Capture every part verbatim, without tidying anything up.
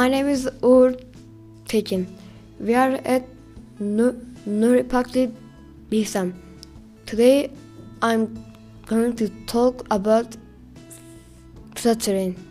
name is Uğur Tekin. We are at Nuri Pakli Bilsem. Today I'm going to talk about stuttering.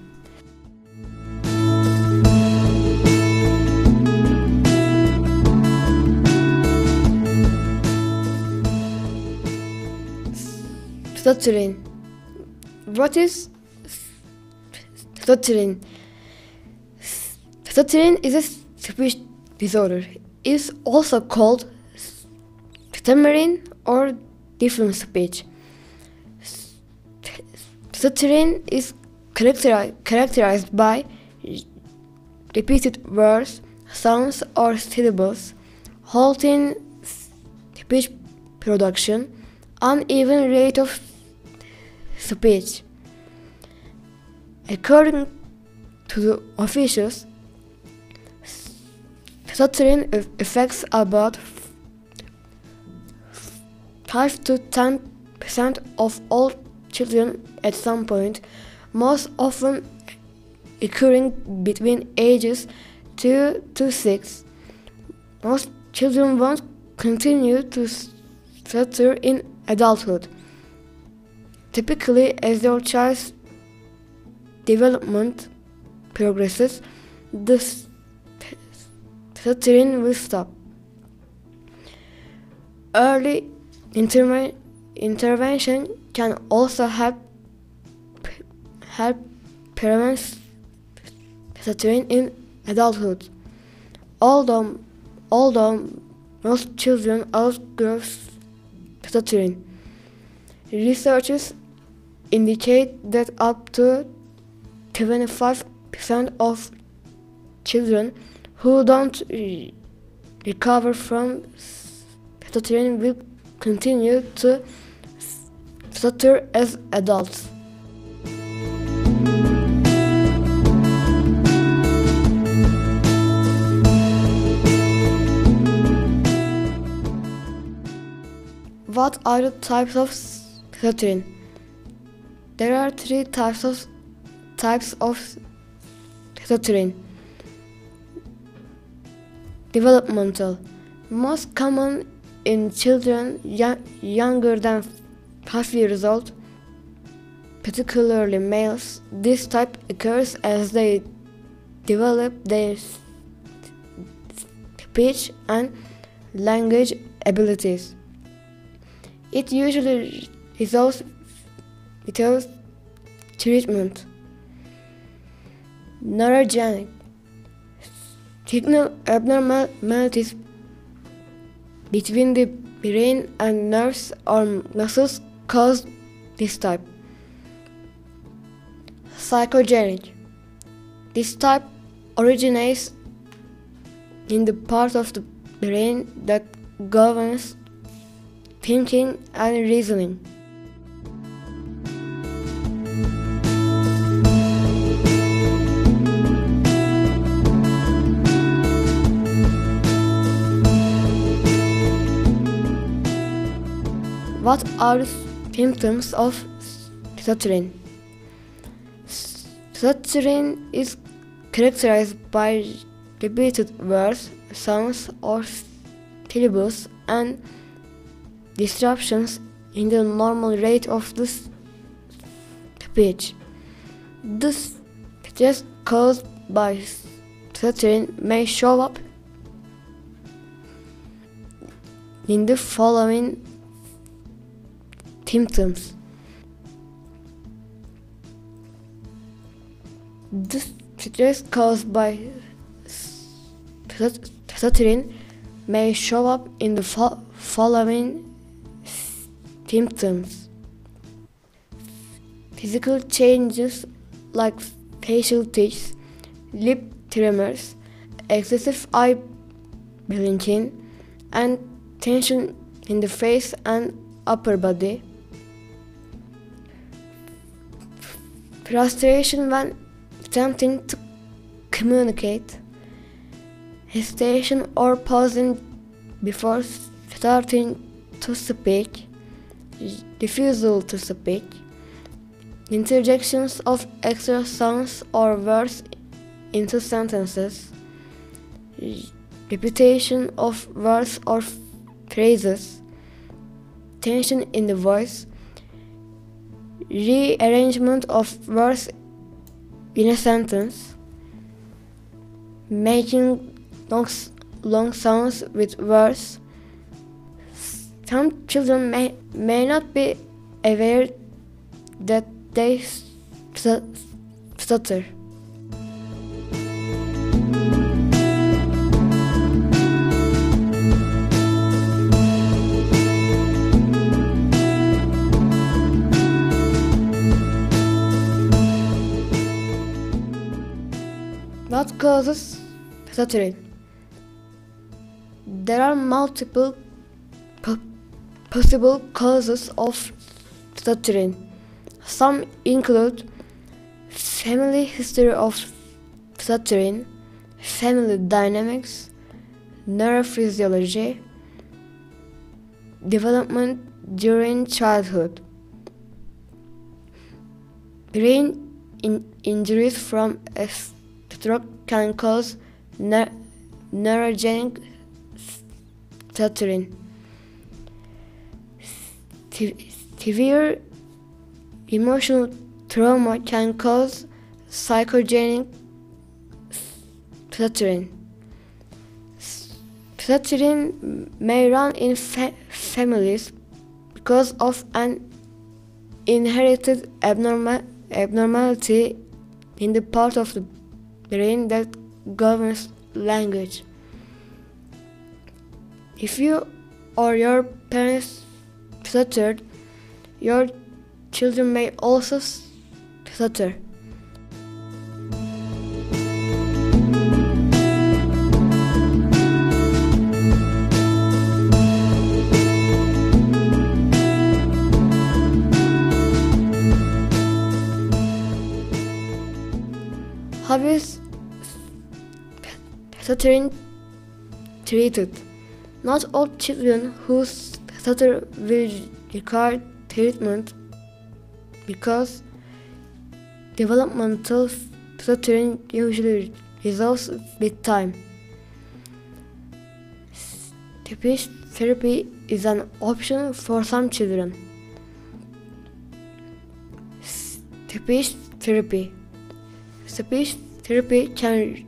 Stuttering. What is stuttering? Stuttering is a speech disorder. It is also called stammering or different speech. Stuttering is characteri- characterized by repeated words, sounds, or syllables, halting speech production, uneven rate of speech. According to the officials, stuttering affects about five to ten percent of all children at some point, most often occurring between ages two to six. Most children won't continue to stutter in adulthood. Typically, as their child's development progresses, the stuttering will stop. Early interve- intervention can also help help prevent stuttering in adulthood. Although, although most children outgrow stuttering, researchers indicate that up to twenty-five percent of children who don't re- recover from stuttering will continue to stutter as adults. What are the types of stuttering? There are three types of types of stuttering. Developmental, most common in children young, younger than five years old, particularly males. This type occurs as they develop their speech and language abilities. It usually resolves without treatment. Neurogenic, signal abnormalities between the brain and nerves or muscles cause this type. Psychogenic, this type originates in the part of the brain that governs thinking and reasoning. What are the symptoms of stuttering? Stuttering is characterized by repeated words, sounds, or syllables and disruptions in the normal rate of the speech. This stress caused by stuttering may show up in the following symptoms. The stress caused by stuttering may show up in the fo- following symptoms. Physical changes like facial tics, lip tremors, excessive eye blinking, and tension in the face and upper body. Frustration when attempting to communicate, hesitation or pausing before starting to speak, refusal to speak, interjections of extra sounds or words into sentences, repetition of words or phrases, tension in the voice, rearrangement of words in a sentence, making long, long sounds with words. Some children may, may not be aware that they stutter. What causes stuttering? There are multiple po- possible causes of stuttering. Some include family history of stuttering, family dynamics, neurophysiology, development during childhood, brain in- injuries from a stroke can cause ne- neurogenic stuttering. Severe emotional trauma can cause psychogenic stuttering. Stuttering may run in fa- families because of an inherited abnormal- abnormality in the part of the brain that governs language. If you or your parents stuttered, your children may also stutter. How is stuttering treated? Not all children who stutter will require treatment because developmental stuttering usually resolves with time. Speech therapy is an option for some children. Speech therapy. Speech therapy can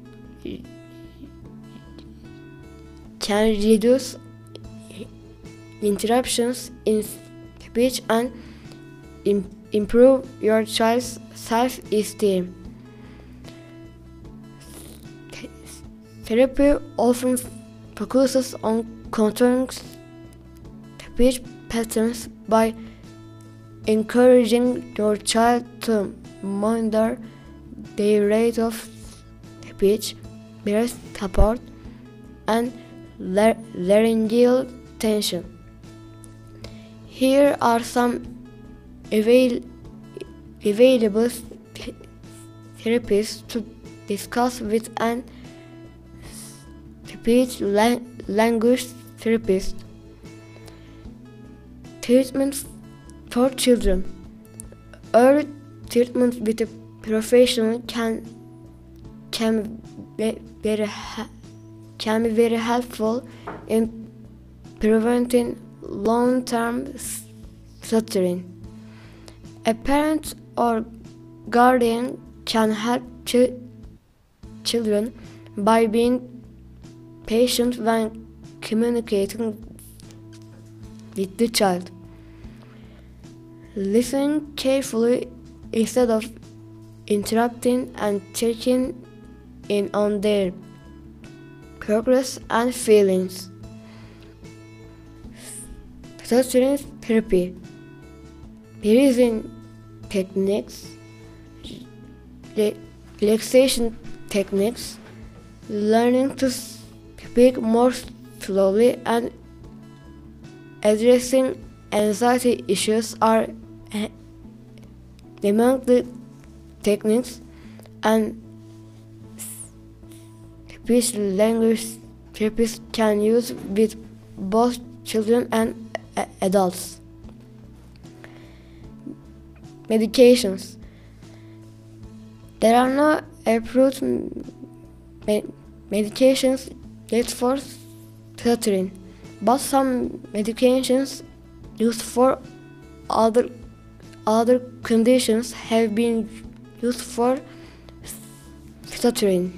can reduce interruptions in speech and im- improve your child's self-esteem. Therapy often focuses on controlling speech patterns by encouraging your child to monitor their rate of speech, breath support, and lar- laryngeal tension. Here are some avail- available th- therapies to discuss with an speech la- language therapist. Treatment for children. Early treatment with a professional can can be very ha- can be very helpful in preventing long-term stuttering. A parent or guardian can help ch- children by being patient when communicating with the child. Listen carefully instead of interrupting and checking in on their progress and feelings. Stuttering therapy. Breathing techniques, re- relaxation techniques, learning to speak more slowly, and addressing anxiety issues are among the techniques and speech language therapists can use with both children and adults. Medications. There are no approved me- medications used for stuttering, but some medications used for other other conditions have been used for stuttering.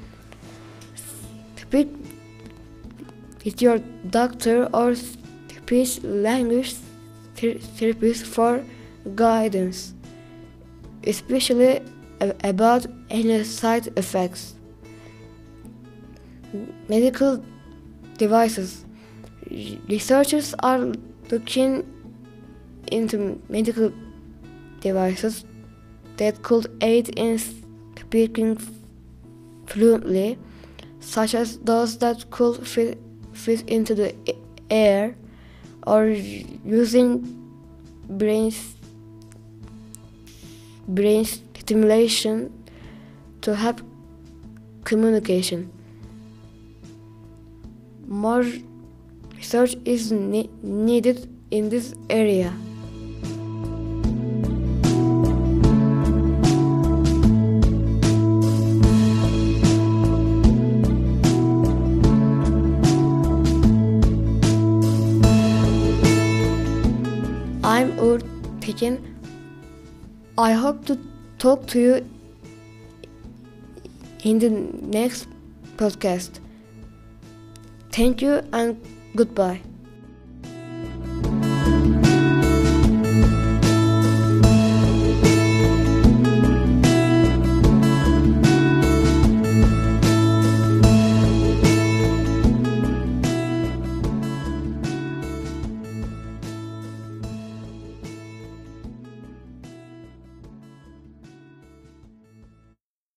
Speak with your doctor or speech language ther- therapist for guidance, especially a- about any side effects. Medical devices. Researchers are looking into medical devices that could aid in speaking fluently, such as those that could fit, fit into the air, or using brain, brain stimulation to help communication. More research is ne- needed in this area. I'm Uğur Tekin. I hope to talk to you in the next podcast. Thank you and goodbye.